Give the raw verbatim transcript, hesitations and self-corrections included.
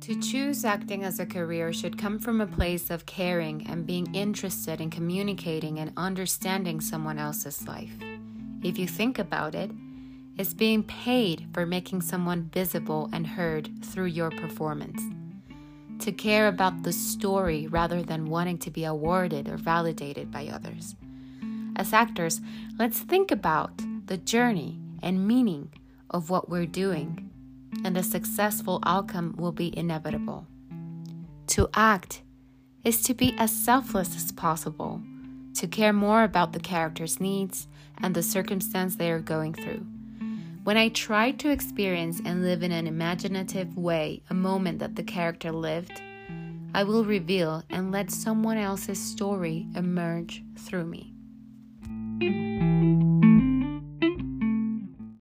To choose acting as a career should come from a place of caring and being interested in communicating and understanding someone else's life. If you think about it, it's being paid for making someone visible and heard through your performance. To care about the story rather than wanting to be awarded or validated by others. As actors, let's think about the journey and meaning of what we're doing, and the successful outcome will be inevitable. To act is to be as selfless as possible, to care more about the character's needs and the circumstance they are going through. When I try to experience and live in an imaginative way a moment that the character lived, I will reveal and let someone else's story emerge through me.